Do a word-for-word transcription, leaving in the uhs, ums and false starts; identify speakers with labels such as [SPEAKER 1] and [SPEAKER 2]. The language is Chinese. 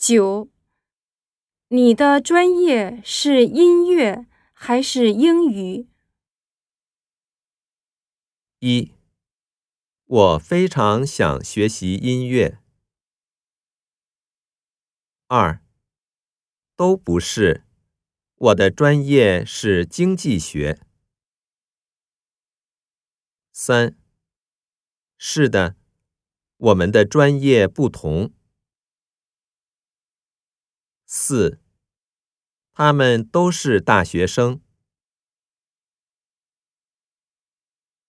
[SPEAKER 1] 九，你的专业是音乐还是英语？
[SPEAKER 2] 一，我非常想学习音乐。二，都不是，我的专业是经济学。三，是的，我们的专业不同。四，他们都是大学生。